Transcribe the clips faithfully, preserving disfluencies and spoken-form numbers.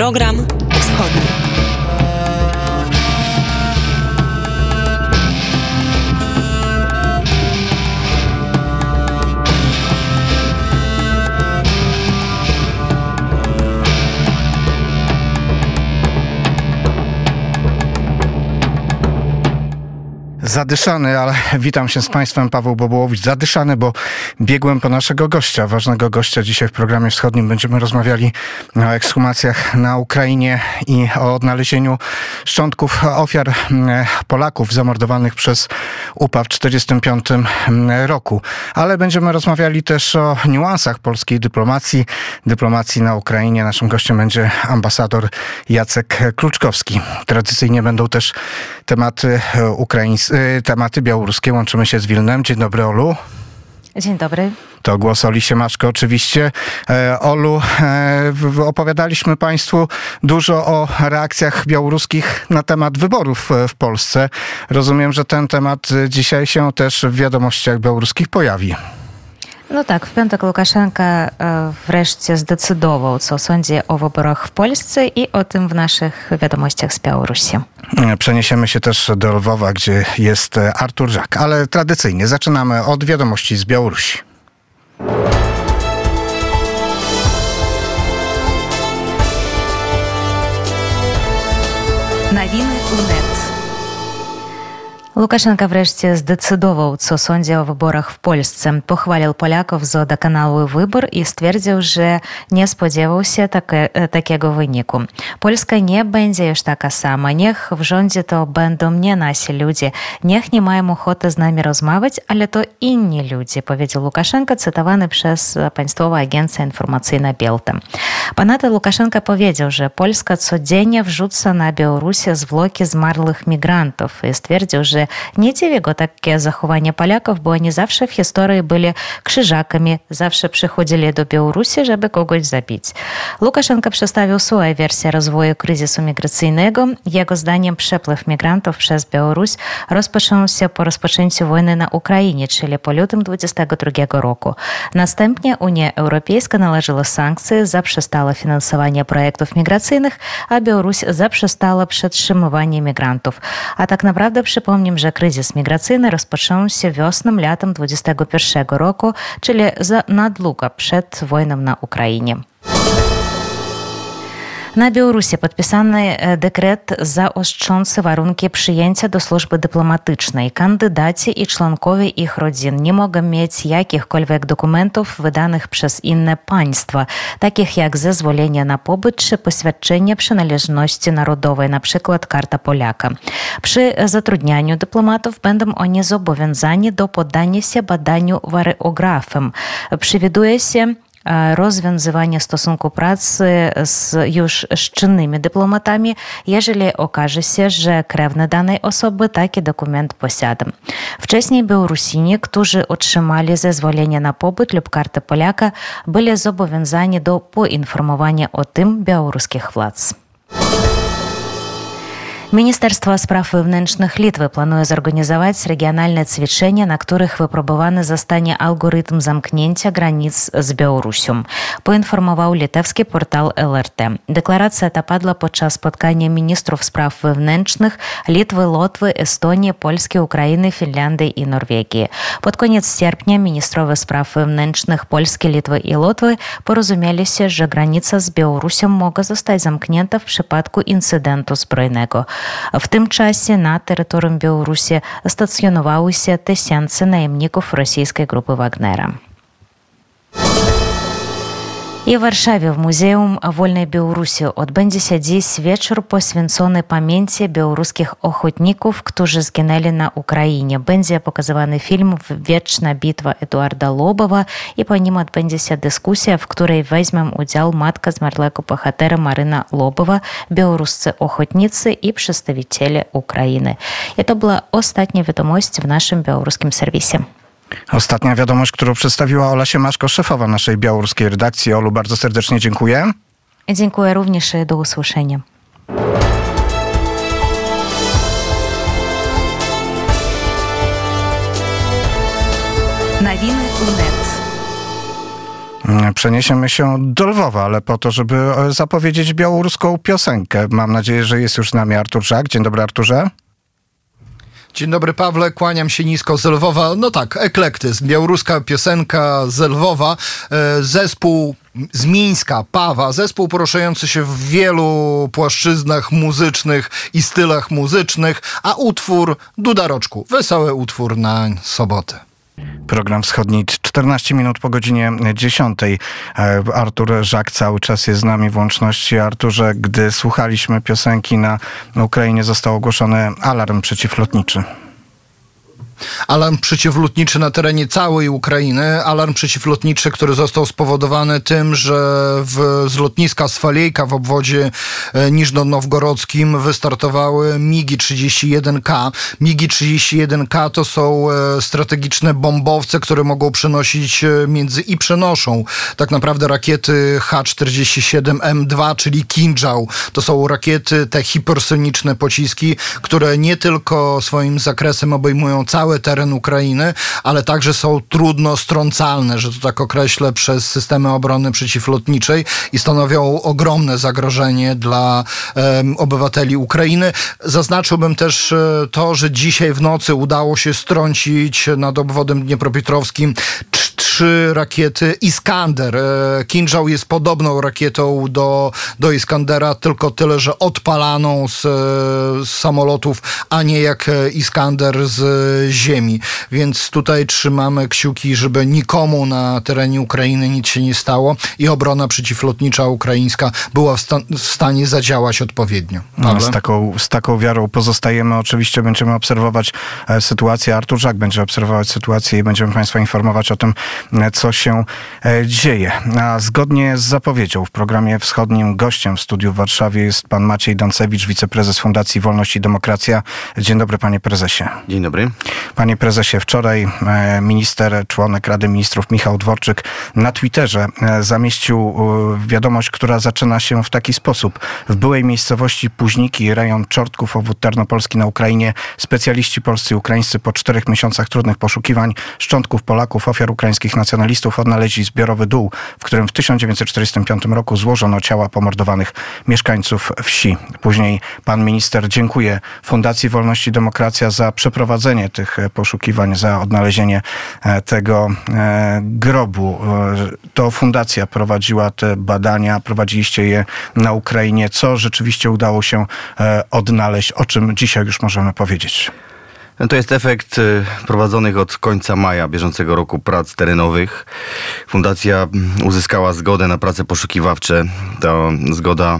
Program Wschodni. Zadyszany, ale witam się z Państwem, Paweł Bobołowicz. Zadyszany, bo biegłem po naszego gościa, ważnego gościa. Dzisiaj w programie wschodnim będziemy rozmawiali o ekshumacjach na Ukrainie i o odnalezieniu szczątków ofiar Polaków zamordowanych przez U P A w tysiąc dziewięćset czterdziestym piątym roku. Ale będziemy rozmawiali też o niuansach polskiej dyplomacji, dyplomacji na Ukrainie. Naszym gościem będzie ambasador Jacek Kluczkowski. Tradycyjnie będą też tematy ukraińskie, tematy białoruskie. Łączymy się z Wilnem. Dzień dobry, Olu. Dzień dobry. To głos Oli Siemaszko oczywiście. E, Olu, e, opowiadaliśmy Państwu dużo o reakcjach białoruskich na temat wyborów w Polsce. Rozumiem, że ten temat dzisiaj się też w wiadomościach białoruskich pojawi. No tak, w piątek Łukaszenka wreszcie zdecydował, co sądzi o wyborach w Polsce i o tym w naszych wiadomościach z Białorusi. Przeniesiemy się też do Lwowa, gdzie jest Artur Żak, ale tradycyjnie zaczynamy od wiadomości z Białorusi. Nowiny U N E T. Łukaszenka wreszcie zdecydował, co sądzi o wyborach w Polsce. Pochwalił Polaków za doskonały wybór i stwierdził, że nie spodziewał się takie, takiego wyniku. Polska nie będzie już taka sama. Niech w rządzie to będą nie nasi ludzie. Niech nie mają ochoty z nami rozmawiać, ale to inni ludzie, powiedział Łukaszenka, cytowany przez Państwową Agencję Informacyjną Bielta. Ponadto Łukaszenka powiedział, że Polska codziennie wrzuca na Białorusię zwłoki zmarłych migrantów i stwierdził, że nie dziwi go takie zachowanie Polaków, bo oni zawsze w historii byli krzyżakami, zawsze przychodzili do Białorusi, żeby kogoś zabić. Łukaszenka przedstawił swoją wersję rozwoju kryzysu migracyjnego. Jego zdaniem przepływ migrantów przez Białoruś rozpoczął się po rozpoczęciu wojny na Ukrainie, czyli po lutym dwudziestego drugiego roku. Następnie Unia Europejska nałożyła sankcje, zaprzestała finansowania projektów migracyjnych, a Białoruś zaprzestała przetrzymywania migrantów. A tak naprawdę przypomnę, że kryzys migracyjny rozpoczął się wiosną, latem dwudziestego pierwszego roku, czyli za nadługo przed wojną na Ukrainie. Na Białorusi podpisany dekret zaostrzący warunki przyjęcia do służby dyplomatycznej. Kandydaci i członkowie ich rodzin nie mogą mieć jakichkolwiek dokumentów wydanych przez inne państwa, takich jak zezwolenie na pobyt czy poświadczenie przynależności narodowej, na przykład karta Polaka. Przy zatrudnianiu dyplomatów będą oni zobowiązani do poddania się badaniu wariografem. Przewiduje się rozwiązywanie stosunku pracy z już z czynnymi dyplomatami, jeżeli okaże się, że krewny danej osoby taki dokument posiada. Wcześniej Białorusini, którzy otrzymali zezwolenie na pobyt lub kartę Polaka, byli zobowiązani do poinformowania o tym białoruskich władz. Ministerstwo Spraw Wewnętrznych Litwy planuje zorganizować regionalne ćwiczenia, na których wypróbowany zostanie algorytm zamknięcia granic z Białorusią, poinformował litewski portal L R T. Deklaracja ta padła podczas spotkania ministrów spraw wewnętrznych Litwy, Łotwy, Estonii, Polski, Ukrainy, Finlandii i Norwegii. Pod koniec sierpnia ministrowie spraw wewnętrznych Polski, Litwy i Łotwy porozumieli się, że granica z Białorusią mogła zostać zamknięta w przypadku incydentu zbrojnego. W tym czasie na terytorium Białorusi stacjonowały się tysiące najemników rosyjskiej grupy Wagnera. I w Warszawie w Muzeum Wolnej Białorusi odbędzie się dziś wieczór poświęcony pamięci białoruskich ochotników, którzy zginęli na Ukrainie. Będzie pokazywany film "Wieczna bitwa" Eduarda Lobowa i po nim odbędzie się dyskusja, w której weźmie udział matka zmarłego bohatera Maryna Lobowa, białoruscy ochotnicy i przedstawiciele Ukrainy. I to była ostatnia wiadomość w naszym białoruskim serwisie. Ostatnia wiadomość, którą przedstawiła Ola Siemaszko, szefowa naszej białoruskiej redakcji. Olu, bardzo serdecznie dziękuję. Dziękuję również i do usłyszenia. Nowiny U N E T. przeniesiemy się do Lwowa, ale po to, żeby zapowiedzieć białoruską piosenkę. Mam nadzieję, że jest już z nami Artur Żak. Dzień dobry, Arturze. Dzień dobry, Pawle, kłaniam się nisko z Lwowa. No tak, eklektyzm, białoruska piosenka z Lwowa, zespół z Mińska, Pawa, zespół poruszający się w wielu płaszczyznach muzycznych i stylach muzycznych, a utwór Duda Roczku, wesoły utwór na sobotę. Program Wschodni, czternaście minut po godzinie dziesiątej. Artur Żak cały czas jest z nami w łączności. Arturze, gdy słuchaliśmy piosenki, na Ukrainie został ogłoszony alarm przeciwlotniczy. Alarm przeciwlotniczy na terenie całej Ukrainy. Alarm przeciwlotniczy, który został spowodowany tym, że w, z lotniska Swalejka w obwodzie niżnonowgorodzkim wystartowały migi trzydzieści jeden K. migi trzydzieści jeden K to są strategiczne bombowce, które mogą przenosić między i przenoszą tak naprawdę rakiety H czterdzieści siedem M dwa, czyli Kinżał. To są rakiety, te hipersoniczne pociski, które nie tylko swoim zakresem obejmują cały teren Ukrainy, ale także są trudno strącalne, że to tak określę, przez systemy obrony przeciwlotniczej i stanowią ogromne zagrożenie dla um, obywateli Ukrainy. Zaznaczyłbym też e, to, że dzisiaj w nocy udało się strącić nad obwodem dniepropietrowskim trzy rakiety Iskander. E, Kinżał jest podobną rakietą do, do Iskandera, tylko tyle, że odpalaną z, z samolotów, a nie jak Iskander z ziemi. Więc tutaj trzymamy kciuki, żeby nikomu na terenie Ukrainy nic się nie stało i obrona przeciwlotnicza ukraińska była w, sta- w stanie zadziałać odpowiednio. No, z, taką, z taką wiarą pozostajemy. Oczywiście będziemy obserwować e, sytuację. Artur Żak będzie obserwować sytuację i będziemy Państwa informować o tym, e, co się e, dzieje. A zgodnie z zapowiedzią w programie wschodnim gościem w studiu w Warszawie jest pan Maciej Dancewicz, wiceprezes Fundacji Wolność i Demokracja. Dzień dobry, panie prezesie. Dzień dobry. Panie prezesie, wczoraj minister, członek Rady Ministrów Michał Dworczyk na Twitterze zamieścił wiadomość, która zaczyna się w taki sposób. W byłej miejscowości Późniki, rejon Czortków, obwód Tarnopolski na Ukrainie, specjaliści polscy i ukraińscy po czterech miesiącach trudnych poszukiwań szczątków Polaków, ofiar ukraińskich nacjonalistów odnaleźli zbiorowy dół, w którym w tysiąc dziewięćset czterdziestym piątym roku złożono ciała pomordowanych mieszkańców wsi. Później pan minister dziękuje Fundacji Wolność i Demokracja za przeprowadzenie tych poszukiwań, za odnalezienie tego grobu. To fundacja prowadziła te badania, prowadziliście je na Ukrainie. Co rzeczywiście udało się odnaleźć? O czym dzisiaj już możemy powiedzieć? To jest efekt prowadzonych od końca maja bieżącego roku prac terenowych. Fundacja uzyskała zgodę na prace poszukiwawcze. Ta zgoda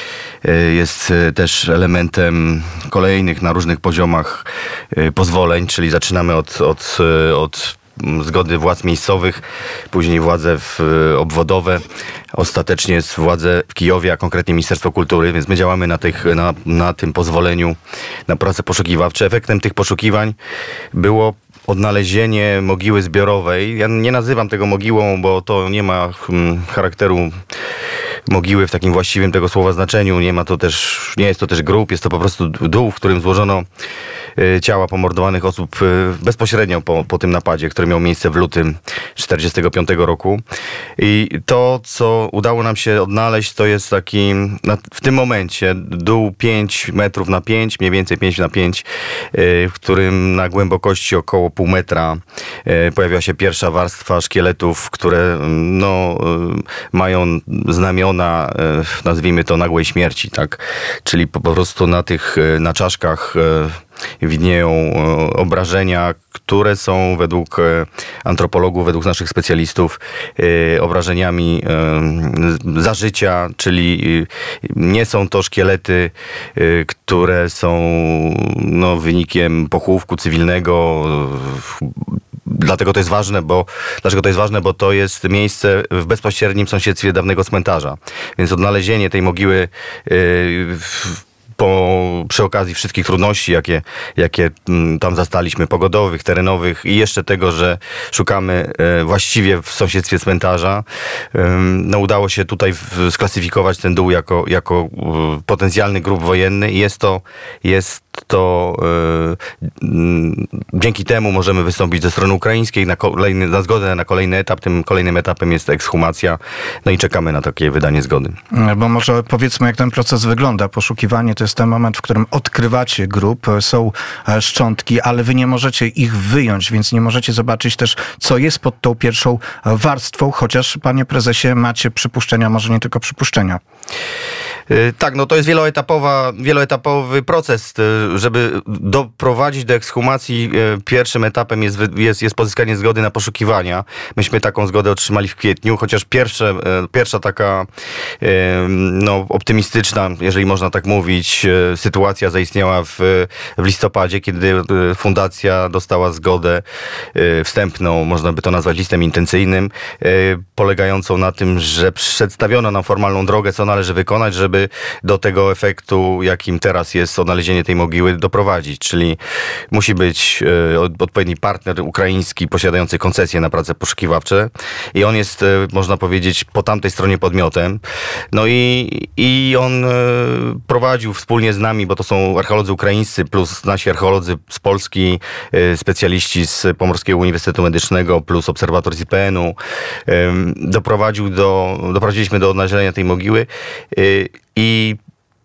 jest też elementem kolejnych na różnych poziomach pozwoleń, czyli zaczynamy od, od, od zgody władz miejscowych, później władze w, obwodowe, ostatecznie jest władze w Kijowie, a konkretnie Ministerstwo Kultury, więc my działamy na, tych, na, na tym pozwoleniu na prace poszukiwawcze. Efektem tych poszukiwań było odnalezienie mogiły zbiorowej. Ja nie nazywam tego mogiłą, bo to nie ma hmm, charakteru mogiły w takim właściwym tego słowa znaczeniu. Nie ma to też, nie jest to też grób, jest to po prostu dół, w którym złożono ciała pomordowanych osób bezpośrednio po, po tym napadzie, który miał miejsce w lutym tysiąc dziewięćset czterdziestego piątego roku. I to, co udało nam się odnaleźć, to jest taki, w tym momencie dół pięć metrów na pięć, mniej więcej pięć na pięć, w którym na głębokości około pół metra pojawiła się pierwsza warstwa szkieletów, które no, mają znamiona, nazwijmy to, nagłej śmierci, tak? Czyli po prostu na tych, na czaszkach widnieją obrażenia, które są według antropologów, według naszych specjalistów obrażeniami za życia, czyli nie są to szkielety, które są no, wynikiem pochówku cywilnego. Dlatego to jest ważne, bo dlaczego to jest ważne, bo to jest miejsce w bezpośrednim sąsiedztwie dawnego cmentarza. Więc odnalezienie tej mogiły po, przy okazji wszystkich trudności, jakie, jakie tam zastaliśmy, pogodowych, terenowych i jeszcze tego, że szukamy właściwie w sąsiedztwie cmentarza, no udało się tutaj sklasyfikować ten dół jako, jako potencjalny grób wojenny i jest to, jest to dzięki temu możemy wystąpić ze strony ukraińskiej na, kolejny, na zgodę na kolejny etap. Tym kolejnym etapem jest ekshumacja. No i czekamy na takie wydanie zgody. Bo może powiedzmy, jak ten proces wygląda. Poszukiwanie to jest ten moment, w którym odkrywacie grób, są szczątki, ale wy nie możecie ich wyjąć, więc nie możecie zobaczyć też, co jest pod tą pierwszą warstwą, chociaż, panie prezesie, macie przypuszczenia, może nie tylko przypuszczenia. Tak, no to jest wieloetapowa, wieloetapowy proces. Żeby doprowadzić do ekshumacji, pierwszym etapem jest, jest, jest pozyskanie zgody na poszukiwania. Myśmy taką zgodę otrzymali w kwietniu, chociaż pierwsze, pierwsza taka no, optymistyczna, jeżeli można tak mówić, sytuacja zaistniała w, w listopadzie, kiedy fundacja dostała zgodę wstępną, można by to nazwać listem intencyjnym, polegającą na tym, że przedstawiono nam formalną drogę, co należy wykonać, żeby do tego efektu, jakim teraz jest odnalezienie tej mogiły, doprowadzić. Czyli musi być e, odpowiedni partner ukraiński posiadający koncesję na prace poszukiwawcze i on jest, e, można powiedzieć, po tamtej stronie podmiotem. No i, i on e, prowadził wspólnie z nami, bo to są archeolodzy ukraińscy plus nasi archeolodzy z Polski, e, specjaliści z Pomorskiego Uniwersytetu Medycznego plus obserwator z I P N u. E, doprowadził do, doprowadziliśmy do odnalezienia tej mogiły. E, I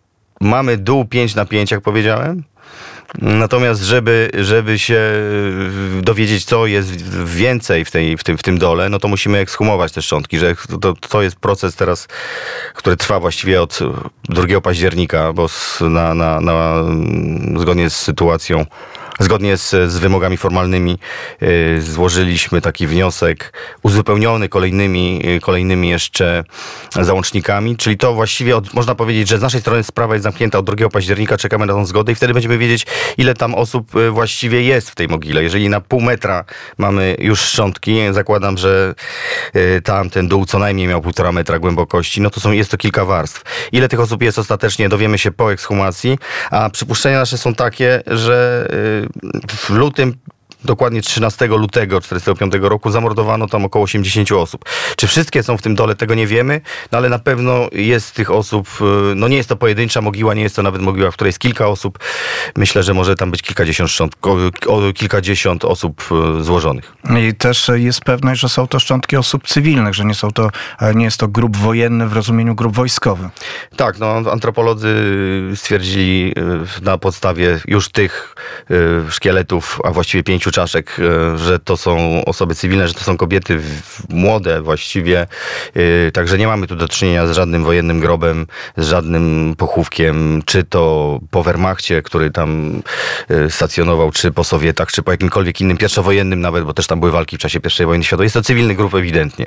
mamy dół pięć na pięć, jak powiedziałem. Natomiast, żeby, żeby się dowiedzieć, co jest więcej w, tej, w, tym, w tym dole, no to musimy ekshumować te szczątki, że to, to jest proces teraz, który trwa właściwie od drugiego października, bo na, na, na, zgodnie z sytuacją, zgodnie z, z wymogami formalnymi yy, złożyliśmy taki wniosek uzupełniony kolejnymi, yy, kolejnymi jeszcze załącznikami, czyli to właściwie od, można powiedzieć, że z naszej strony sprawa jest zamknięta od drugiego października, czekamy na tą zgodę i wtedy będziemy wiedzieć, ile tam osób yy, właściwie jest w tej mogile. Jeżeli na pół metra mamy już szczątki, zakładam, że yy, tam ten dół co najmniej miał półtora metra głębokości, no to są, jest to kilka warstw. Ile tych osób jest ostatecznie, dowiemy się po ekshumacji, a przypuszczenia nasze są takie, że yy, w lutym, dokładnie trzynastego lutego tysiąc dziewięćset czterdziestego piątego roku zamordowano tam około osiemdziesiąt osób. Czy wszystkie są w tym dole, tego nie wiemy, no ale na pewno jest tych osób, no nie jest to pojedyncza mogiła, nie jest to nawet mogiła, w której jest kilka osób. Myślę, że może tam być kilkadziesiąt, kilkadziesiąt osób złożonych. I też jest pewność, że są to szczątki osób cywilnych, że nie są to, nie jest to grób wojenny w rozumieniu grób wojskowy. Tak, no antropolodzy stwierdzili na podstawie już tych szkieletów, a właściwie pięciu czaszek, że to są osoby cywilne, że to są kobiety młode właściwie, także nie mamy tu do czynienia z żadnym wojennym grobem, z żadnym pochówkiem, czy to po Wehrmachcie, który tam stacjonował, czy po Sowietach, czy po jakimkolwiek innym pierwszowojennym nawet, bo też tam były walki w czasie pierwszej wojny światowej. Jest to cywilny grób ewidentnie.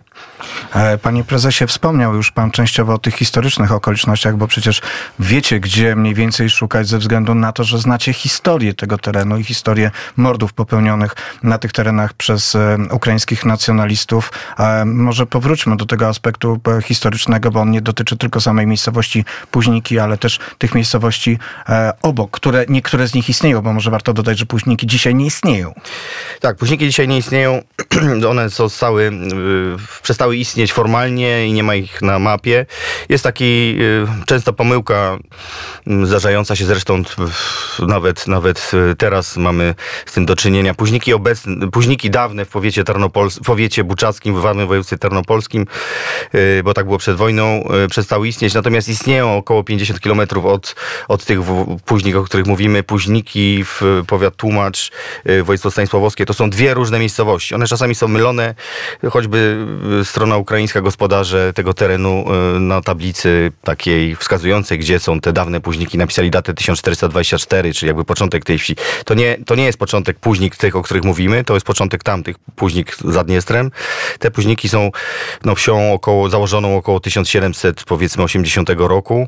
Panie prezesie, wspomniał już pan częściowo o tych historycznych okolicznościach, bo przecież wiecie, gdzie mniej więcej szukać ze względu na to, że znacie historię tego terenu i historię mordów popełnionych na tych terenach przez ukraińskich nacjonalistów. Może powróćmy do tego aspektu historycznego, bo on nie dotyczy tylko samej miejscowości Późniki, ale też tych miejscowości obok, które niektóre z nich istnieją, bo może warto dodać, że Późniki dzisiaj nie istnieją. Tak, Późniki dzisiaj nie istnieją. One zostały, przestały istnieć formalnie i nie ma ich na mapie. Jest taki często pomyłka zdarzająca się zresztą nawet, nawet teraz mamy z tym do czynienia. Późniki obecne, Późniki dawne w powiecie, Tarnopols- w powiecie buczackim, w Warmym Województwie Tarnopolskim, bo tak było przed wojną, przestały istnieć. Natomiast istnieją około pięćdziesiąt kilometrów od, od tych Późnik, o których mówimy. Późniki w powiat Tłumacz, województwo stanisławowskie. To są dwie różne miejscowości. One czasami są mylone, choćby strona ukraińska, gospodarze tego terenu na tablicy takiej wskazującej, gdzie są te dawne Późniki, napisali datę tysiąc czterysta dwadzieścia cztery, czyli jakby początek tej wsi. To nie, to nie jest początek Późnik tych tych, o których mówimy, to jest początek tamtych, Późnik za Dniestrem. Te Późniki są no, wsią około, założoną około tysiąc siedemset, powiedzmy, osiemdziesiątego roku.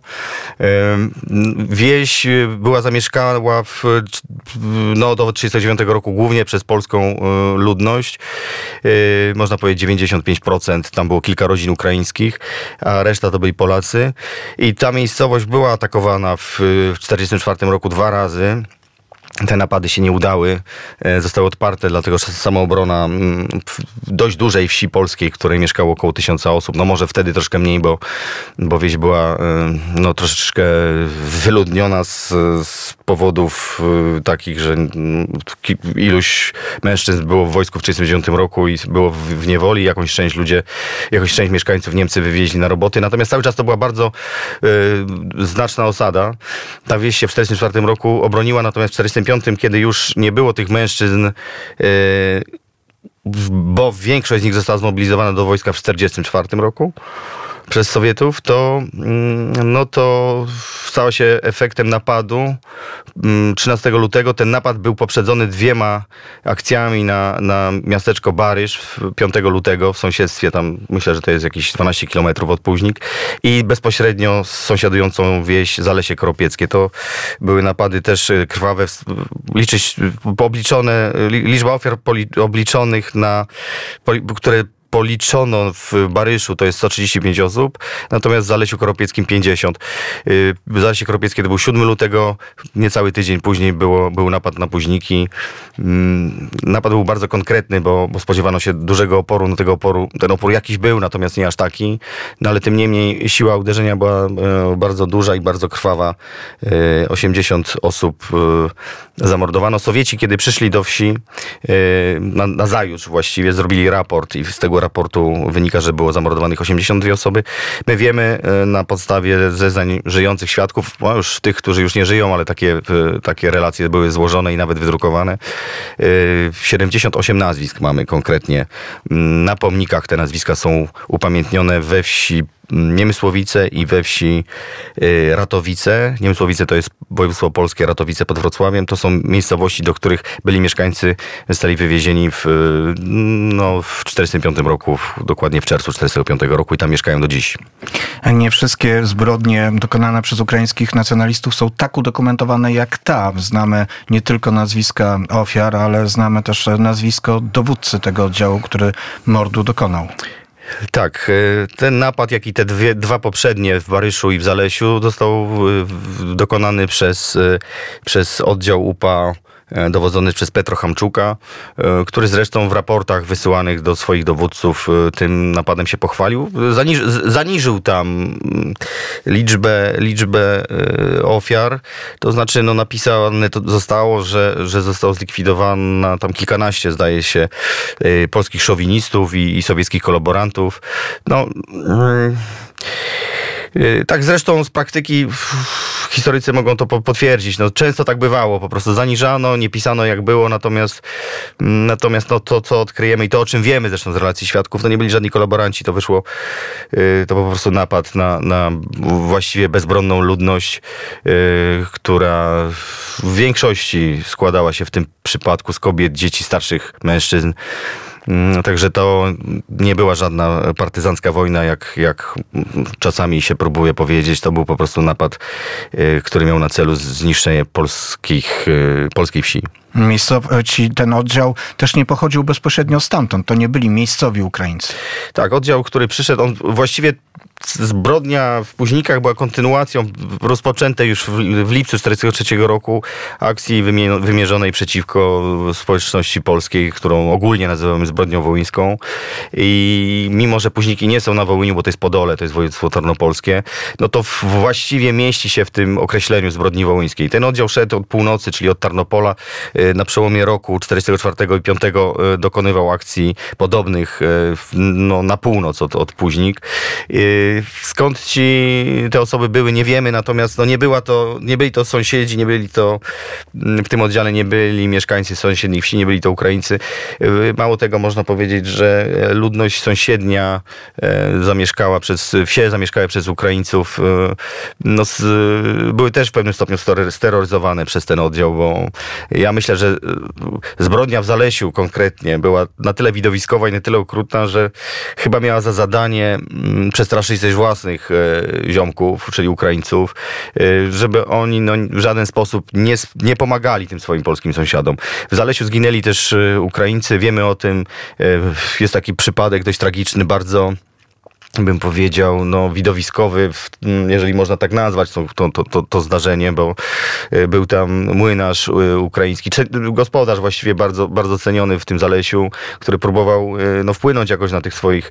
Wieś była zamieszkała w, no, do trzydziestego dziewiątego roku głównie przez polską ludność. Można powiedzieć dziewięćdziesiąt pięć procent. Tam było kilka rodzin ukraińskich, a reszta to byli Polacy. I ta miejscowość była atakowana w czterdziestym czwartym roku dwa razy. Te napady się nie udały, zostały odparte, dlatego że samoobrona w dość dużej wsi polskiej, w której mieszkało około tysiąca osób, no może wtedy troszkę mniej, bo, bo wieś była no, troszeczkę wyludniona z, z powodów takich, że iluś mężczyzn było w wojsku w tysiąc dziewięćset trzydziestym dziewiątym roku i było w, w niewoli, jakąś część ludzie, jakąś część mieszkańców Niemcy wywieźli na roboty, natomiast cały czas to była bardzo y, znaczna osada. Ta wieś się w czterdziestym czwartym roku obroniła, natomiast w czterdziestym piątym, kiedy już nie było tych mężczyzn, yy, bo większość z nich została zmobilizowana do wojska w czterdziestym czwartym roku przez Sowietów, to, no to stało się efektem napadu trzynastego lutego. Ten napad był poprzedzony dwiema akcjami na, na miasteczko Barysz piątego lutego w sąsiedztwie, tam myślę, że to jest jakieś dwanaście kilometrów od Późnik, i bezpośrednio z sąsiadującą wieś Zalesie Koropieckie. To były napady też krwawe, liczyć, obliczone, liczba ofiar obliczonych na, które policzono w Baryszu, to jest sto trzydzieści pięć osób, natomiast w Zalesiu Koropieckim pięćdziesiąt. W Zalesie Koropieckie to był siódmego lutego, niecały tydzień później było, był napad na Późniki. Napad był bardzo konkretny, bo, bo spodziewano się dużego oporu, no tego oporu, ten opór jakiś był, natomiast nie aż taki, no ale tym niemniej siła uderzenia była bardzo duża i bardzo krwawa. osiemdziesiąt osób zamordowano. Sowieci, kiedy przyszli do wsi, na, na zajutrz właściwie, zrobili raport i z tego raportu wynika, że było zamordowanych osiemdziesiąt dwie osoby. My wiemy na podstawie zeznań żyjących świadków, no już tych, którzy już nie żyją, ale takie, takie relacje były złożone i nawet wydrukowane. siedemdziesiąt osiem nazwisk mamy konkretnie. Na pomnikach te nazwiska są upamiętnione we wsi Niemysłowice i we wsi Ratowice. Niemysłowice to jest województwo polskie, Ratowice pod Wrocławiem. To są miejscowości, do których byli mieszkańcy, zostali wywiezieni w, no, w czterdziestym piątym roku, dokładnie w czerwcu czterdziestego piątego roku i tam mieszkają do dziś. Nie wszystkie zbrodnie dokonane przez ukraińskich nacjonalistów są tak udokumentowane jak ta. Znamy nie tylko nazwiska ofiar, ale znamy też nazwisko dowódcy tego oddziału, który mordu dokonał. Tak, ten napad, jak i te dwie, dwa poprzednie w Baryszu i w Zalesiu został dokonany przez, przez oddział U P A dowodzony przez Petro Hamczuka, który zresztą w raportach wysyłanych do swoich dowódców tym napadem się pochwalił. Zaniż, zaniżył tam liczbę, liczbę ofiar, to znaczy no, napisane to zostało, że, że zostało zlikwidowane tam kilkanaście, zdaje się, polskich szowinistów i, i sowieckich kolaborantów. No... Tak zresztą z praktyki historycy mogą to potwierdzić. No, często tak bywało, po prostu zaniżano, nie pisano jak było, natomiast, natomiast no, to, co odkryjemy i to, o czym wiemy zresztą z relacji świadków, to nie byli żadni kolaboranci, to wyszło, to po prostu napad na, na właściwie bezbronną ludność, która w większości składała się w tym przypadku z kobiet, dzieci, starszych mężczyzn. Także to nie była żadna partyzancka wojna, jak, jak czasami się próbuje powiedzieć. To był po prostu napad, który miał na celu zniszczenie polskich, polskiej wsi. Miejscowi, ten oddział też nie pochodził bezpośrednio stamtąd. To nie byli miejscowi Ukraińcy. Tak, oddział, który przyszedł, on właściwie zbrodnia w Późnikach była kontynuacją rozpoczętej już w, w lipcu tysiąc dziewięćset czterdziestego trzeciego roku akcji wymierzonej przeciwko społeczności polskiej, którą ogólnie nazywamy zbrodnią wołyńską. I mimo, że Późniki nie są na Wołyniu, bo to jest Podole, to jest województwo tarnopolskie, no to właściwie mieści się w tym określeniu zbrodni wołyńskiej. Ten oddział szedł od północy, czyli od Tarnopola. Na przełomie roku czterdziestego czwartego i piątego dokonywał akcji podobnych no, na północ od, od Późnik. Skąd ci te osoby były, nie wiemy, natomiast no, nie, była to, nie byli to sąsiedzi, nie byli to, w tym oddziale nie byli mieszkańcy sąsiednich wsi, nie byli to Ukraińcy. Mało tego, można powiedzieć, że ludność sąsiednia zamieszkała przez, wsie zamieszkałe przez Ukraińców, no, były też w pewnym stopniu steroryzowane przez ten oddział, bo ja myślę, myślę, że zbrodnia w Zalesiu konkretnie była na tyle widowiskowa i na tyle okrutna, że chyba miała za zadanie przestraszyć też własnych ziomków, czyli Ukraińców, żeby oni no, w żaden sposób nie, nie pomagali tym swoim polskim sąsiadom. W Zalesiu zginęli też Ukraińcy, wiemy o tym, jest taki przypadek dość tragiczny, bardzo bym powiedział, no widowiskowy, jeżeli można tak nazwać to, to, to, to zdarzenie, bo był tam młynarz ukraiński, gospodarz właściwie bardzo, bardzo ceniony w tym Zalesiu, który próbował no, wpłynąć jakoś na tych swoich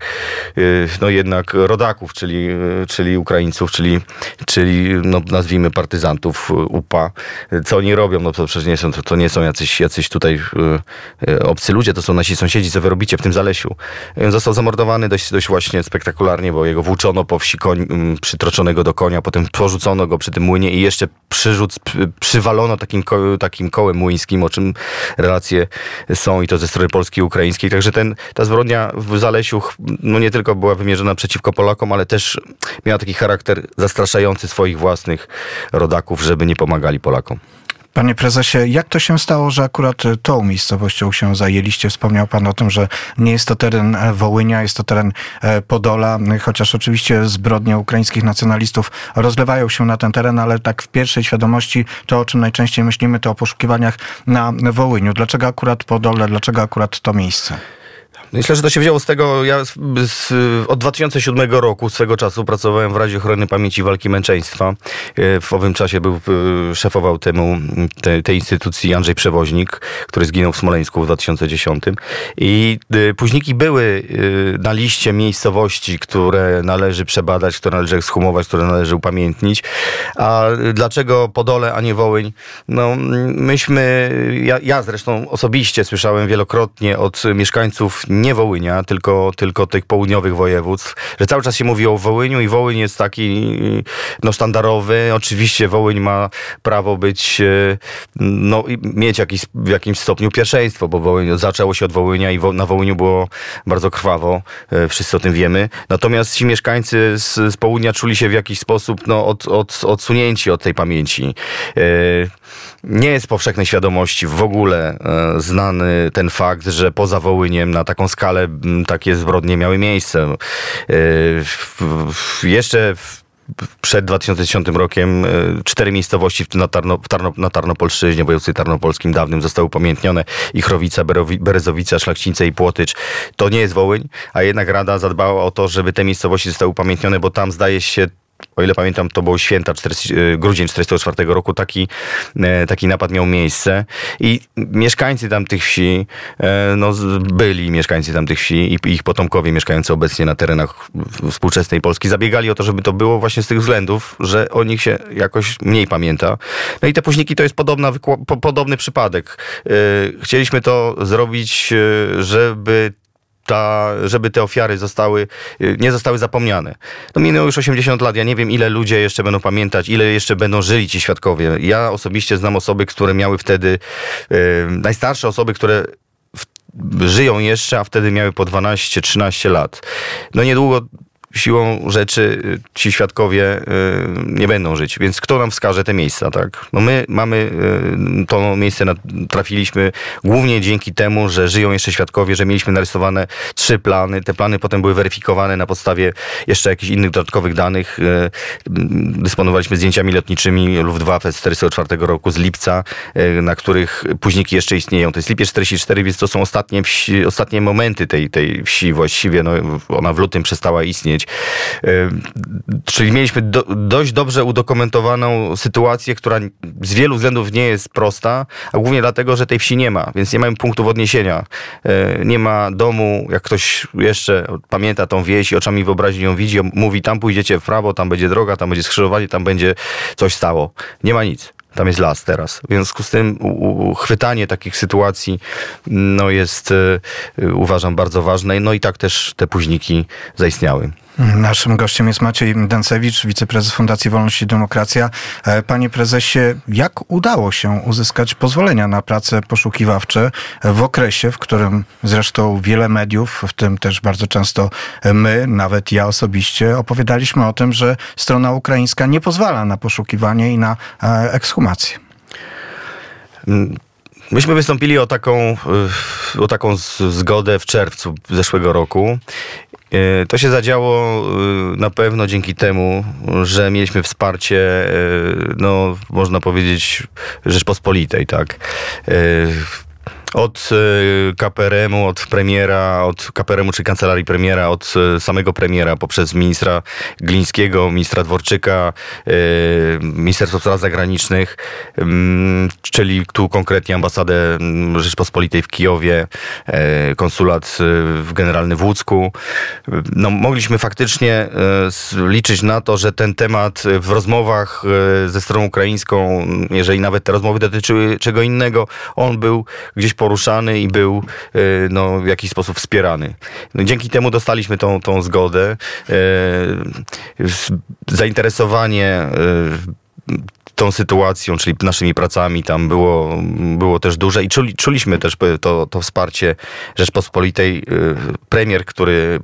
no jednak rodaków, czyli, czyli Ukraińców, czyli, czyli no, nazwijmy partyzantów U P A. Co oni robią? No to przecież nie są, to, to nie są jacyś, jacyś tutaj obcy ludzie, to są nasi sąsiedzi, co wy robicie w tym Zalesiu. Został zamordowany dość, dość właśnie spektakularnie, bo jego włóczono po wsi koń, przytroczonego do konia, potem porzucono go przy tym młynie i jeszcze przyrzuc, przywalono takim, ko, takim kołem młyńskim, o czym relacje są i to ze strony polskiej i ukraińskiej. Także ten, ta zbrodnia w Zalesiu no nie tylko była wymierzona przeciwko Polakom, ale też miała taki charakter zastraszający swoich własnych rodaków, żeby nie pomagali Polakom. Panie prezesie, jak to się stało, że akurat tą miejscowością się zajęliście? Wspomniał pan o tym, że nie jest to teren Wołynia, jest to teren Podola, chociaż oczywiście zbrodnie ukraińskich nacjonalistów rozlewają się na ten teren, ale tak w pierwszej świadomości to, o czym najczęściej myślimy, to o poszukiwaniach na Wołyniu. Dlaczego akurat Podole, dlaczego akurat to miejsce? Myślę, że to się wzięło z tego, ja z, z, od dwa tysiące siódmego roku swego czasu pracowałem w Radzie Ochrony Pamięci i Walki Męczeństwa. W owym czasie był, szefował temu, te, tej instytucji Andrzej Przewoźnik, który zginął w Smoleńsku w dwa tysiące dziesiątym. I późniki były na liście miejscowości, które należy przebadać, które należy ekshumować, które należy upamiętnić. A dlaczego Podole, a nie Wołyń? No myśmy, ja, ja zresztą osobiście słyszałem wielokrotnie od mieszkańców nie Wołynia, tylko, tylko tych południowych województw, że cały czas się mówi o Wołyniu i Wołyń jest taki no, sztandarowy. Oczywiście Wołyń ma prawo być, no, mieć jakiś, w jakimś stopniu pierwszeństwo, bo Wołyń, zaczęło się od Wołynia i wo, na Wołyniu było bardzo krwawo. Wszyscy o tym wiemy. Natomiast ci mieszkańcy z, z południa czuli się w jakiś sposób no, od, od, odsunięci od tej pamięci. Nie jest powszechnej świadomości w ogóle znany ten fakt, że poza Wołyniem na taką skalę takie zbrodnie miały miejsce. Jeszcze przed dwa tysiące dziesiątym rokiem cztery miejscowości na, Tarno, w Tarno, na Tarnopolszczyźnie, w województwie tarnopolskim dawnym zostały upamiętnione. Ichrowica, Berezowica, Szlachcice i Płotycz. To nie jest Wołyń, a jednak Rada zadbała o to, żeby te miejscowości zostały upamiętnione, bo tam zdaje się, o ile pamiętam, to było święta, czterdziesty, grudzień czterdziestego czwartego roku, taki, taki napad miał miejsce i mieszkańcy tamtych wsi, no byli mieszkańcy tamtych wsi i ich potomkowie mieszkający obecnie na terenach współczesnej Polski zabiegali o to, żeby to było właśnie z tych względów, że o nich się jakoś mniej pamięta. No i te późniki to jest podobna, podobny przypadek. Chcieliśmy to zrobić, żeby Ta, żeby te ofiary zostały, nie zostały zapomniane. No minęło już osiemdziesiąt lat, ja nie wiem, ile ludzie jeszcze będą pamiętać, ile jeszcze będą żyli ci świadkowie. Ja osobiście znam osoby, które miały wtedy, yy, najstarsze osoby, które w, żyją jeszcze, a wtedy miały po dwanaście trzynaście lat. No niedługo siłą rzeczy ci świadkowie y, nie będą żyć. Więc kto nam wskaże te miejsca, tak? No my mamy y, to miejsce, na, trafiliśmy głównie dzięki temu, że żyją jeszcze świadkowie, że mieliśmy narysowane trzy plany. Te plany potem były weryfikowane na podstawie jeszcze jakichś innych dodatkowych danych. Y, dysponowaliśmy zdjęciami lotniczymi Luftwaffe z czterdziestego czwartego roku, z lipca, y, na których późniki jeszcze istnieją. To jest lipiec czterdziesty czwarty, więc to są ostatnie, wsi, ostatnie momenty tej, tej wsi właściwie. No, ona w lutym przestała istnieć. Czyli mieliśmy do, dość dobrze udokumentowaną sytuację, która z wielu względów nie jest prosta, a głównie dlatego, że tej wsi nie ma, więc nie mamy punktów odniesienia. Nie ma domu, jak ktoś jeszcze pamięta tą wieś i oczami wyobraźni ją widzi, mówi, tam pójdziecie w prawo, tam będzie droga, tam będzie skrzyżowanie, tam będzie coś stało. Nie ma nic. Tam jest las teraz. W związku z tym chwytanie takich sytuacji no jest, y, uważam, bardzo ważne. No i tak też te późniki zaistniały. Naszym gościem jest Maciej Dęcewicz, wiceprezes Fundacji Wolność i Demokracja. Panie prezesie, jak udało się uzyskać pozwolenia na prace poszukiwawcze w okresie, w którym zresztą wiele mediów, w tym też bardzo często my, nawet ja osobiście, opowiadaliśmy o tym, że strona ukraińska nie pozwala na poszukiwanie i na ekshumację? Myśmy wystąpili o taką, o taką zgodę w czerwcu zeszłego roku. To się zadziało na pewno dzięki temu, że mieliśmy wsparcie, no można powiedzieć, Rzeczpospolitej, tak? Od K P R M-u, od premiera, od K P R M-u czy kancelarii premiera, od samego premiera poprzez ministra Glińskiego, ministra Dworczyka, Ministerstwo Spraw Zagranicznych, czyli tu konkretnie ambasadę Rzeczpospolitej w Kijowie, konsulat generalny w Łódzku. No, mogliśmy faktycznie liczyć na to, że ten temat w rozmowach ze stroną ukraińską, jeżeli nawet te rozmowy dotyczyły czego innego, on był gdzieś poruszany i był no, w jakiś sposób wspierany. No, dzięki temu dostaliśmy tą, tą zgodę. Zainteresowanie tą sytuacją, czyli naszymi pracami tam było, było też duże i czuli, czuliśmy też to, to wsparcie Rzeczpospolitej. Premier, który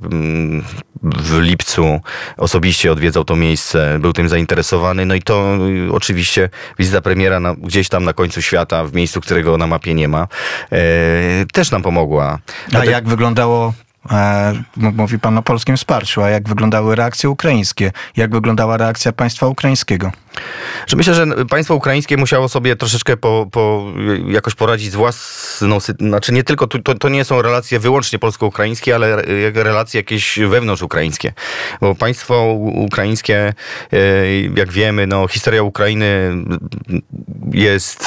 w lipcu osobiście odwiedzał to miejsce, był tym zainteresowany. No i to oczywiście wizyta premiera na, gdzieś tam na końcu świata, w miejscu, którego na mapie nie ma, też nam pomogła. A jak wyglądało... Mówi pan o polskim wsparciu, a jak wyglądały reakcje ukraińskie? Jak wyglądała reakcja państwa ukraińskiego? Że myślę, że państwo ukraińskie musiało sobie troszeczkę po, po jakoś poradzić z własną... Znaczy nie tylko, to, to nie są relacje wyłącznie polsko-ukraińskie, ale relacje jakieś wewnątrz-ukraińskie. Bo państwo ukraińskie, jak wiemy, no historia Ukrainy jest...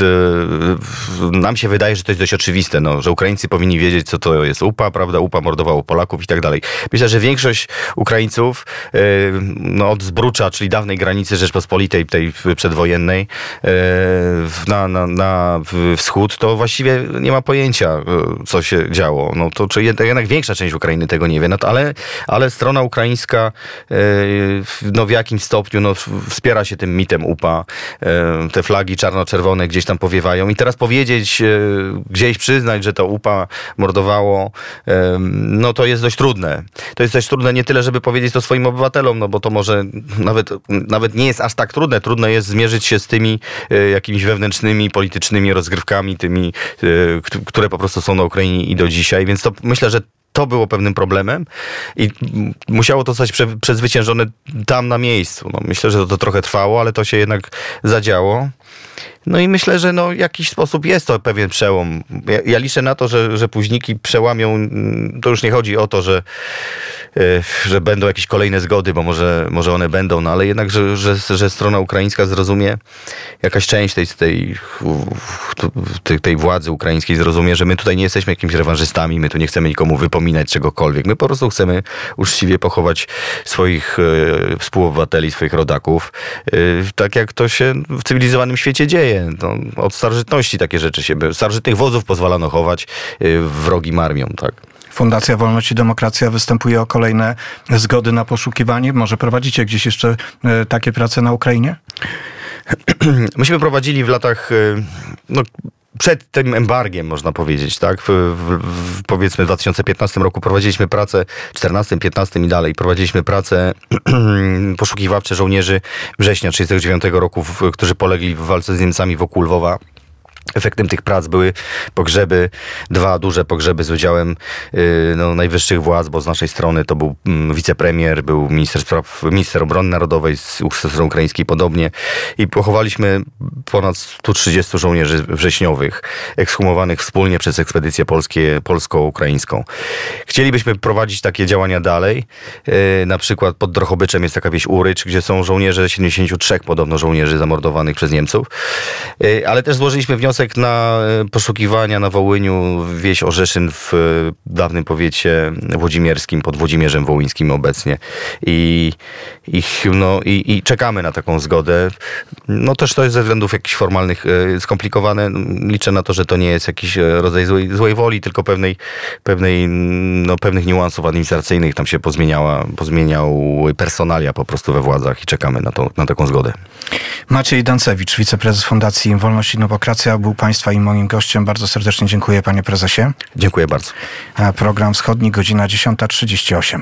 Nam się wydaje, że to jest dość oczywiste, no, że Ukraińcy powinni wiedzieć, co to jest U P A, prawda? U P A mordowało Polaków i tak dalej. Myślę, że większość Ukraińców no, od Zbrucza, czyli dawnej granicy Rzeczpospolitej, tej przedwojennej, na, na, na wschód, to właściwie nie ma pojęcia, co się działo. No, to czy jednak większa część Ukrainy tego nie wie, no, to, ale, ale strona ukraińska no, w jakimś stopniu no, wspiera się tym mitem U P A. Te flagi czarno-czerwone gdzieś tam powiewają i teraz powiedzieć, gdzieś przyznać, że to U P A mordowało, no to jest dość trudne. To jest dość trudne nie tyle, żeby powiedzieć to swoim obywatelom, no bo to może nawet, nawet nie jest aż tak trudne. Trudno jest zmierzyć się z tymi e, jakimiś wewnętrznymi, politycznymi rozgrywkami, tymi, e, które po prostu są na Ukrainie i do dzisiaj, więc to myślę, że to było pewnym problemem i musiało to zostać prze, przezwyciężone tam na miejscu. No, myślę, że to, to trochę trwało, ale to się jednak zadziało. No i myślę, że no, w jakiś sposób jest to pewien przełom. Ja, ja liczę na to, że, że późniki przełamią. To już nie chodzi o to, że, że będą jakieś kolejne zgody, bo może, może one będą, no ale jednak, że, że, że strona ukraińska zrozumie, jakaś część tej, tej, tej, tej władzy ukraińskiej zrozumie, że my tutaj nie jesteśmy jakimiś rewanżystami, my tu nie chcemy nikomu wypominać czegokolwiek. My po prostu chcemy uczciwie pochować swoich e, współobywateli, swoich rodaków, e, tak jak to się w cywilizowanym świecie dzieje. No, od starożytności takie rzeczy się... Starożytnych wodzów pozwalano chować e, wrogim armiom, tak. Fundacja Wolność i Demokracja występuje o kolejne zgody na poszukiwanie. Może prowadzicie gdzieś jeszcze e, takie prace na Ukrainie? Myśmy prowadzili w latach... E, no, przed tym embargiem, można powiedzieć, tak? W, w, w, powiedzmy w dwa tysiące piętnastym roku prowadziliśmy pracę, czternastym, piętnastym i dalej, prowadziliśmy pracę poszukiwawcze żołnierzy września tysiąc dziewięćset trzydziestego dziewiątego roku, w, którzy polegli w walce z Niemcami wokół Lwowa. Efektem tych prac były pogrzeby, dwa duże pogrzeby z udziałem yy, no, najwyższych władz, bo z naszej strony to był mm, wicepremier, był minister spraw, minister obrony narodowej, z strony ukraińskiej podobnie i pochowaliśmy ponad stu trzydziestu żołnierzy wrześniowych, ekshumowanych wspólnie przez ekspedycję polskie, polsko-ukraińską. Chcielibyśmy prowadzić takie działania dalej. Yy, na przykład pod Drohobyczem jest taka wieś Urycz, gdzie są żołnierze, siedemdziesięciu trzech podobno żołnierzy zamordowanych przez Niemców, yy, ale też złożyliśmy wniosek na poszukiwania na Wołyniu, wieś Orzeszyn w dawnym powiecie włodzimierskim, pod Włodzimierzem Wołyńskim obecnie. I, i, no, i, i czekamy na taką zgodę. No też to jest ze względów jakichś formalnych skomplikowane. Liczę na to, że to nie jest jakiś rodzaj złej, złej woli, tylko pewnej, pewnej, no, pewnych niuansów administracyjnych. Tam się pozmieniała, pozmieniały personalia po prostu we władzach i czekamy na, to, na taką zgodę. Maciej Dancewicz, wiceprezes Fundacji Wolność i Demokracja, był Państwa i moim gościem. Bardzo serdecznie dziękuję, panie prezesie. Dziękuję bardzo. Program Wschodni, godzina dziesiąta trzydzieści osiem.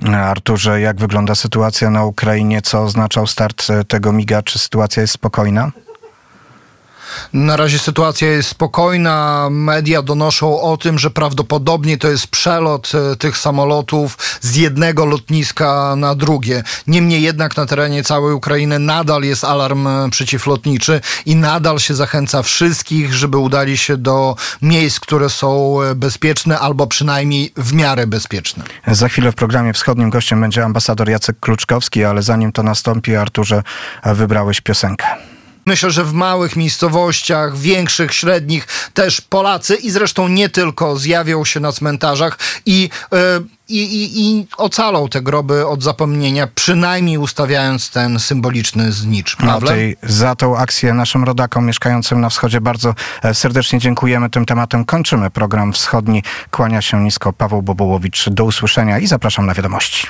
Arturze, jak wygląda sytuacja na Ukrainie? Co oznaczał start tego miga? Czy sytuacja jest spokojna? Na razie sytuacja jest spokojna. Media donoszą o tym, że prawdopodobnie to jest przelot tych samolotów z jednego lotniska na drugie. Niemniej jednak na terenie całej Ukrainy nadal jest alarm przeciwlotniczy i nadal się zachęca wszystkich, żeby udali się do miejsc, które są bezpieczne albo przynajmniej w miarę bezpieczne. Za chwilę w programie wschodnim gościem będzie ambasador Jacek Kluczkowski, ale zanim to nastąpi, Arturze, wybrałeś piosenkę. Myślę, że w małych miejscowościach, większych, średnich też Polacy i zresztą nie tylko zjawią się na cmentarzach i, yy, i, i, i ocalą te groby od zapomnienia, przynajmniej ustawiając ten symboliczny znicz. No tej, za tą akcję naszym rodakom mieszkającym na wschodzie bardzo serdecznie dziękujemy. Tym tematem kończymy program wschodni. Kłania się nisko Paweł Bobołowicz. Do usłyszenia i zapraszam na wiadomości.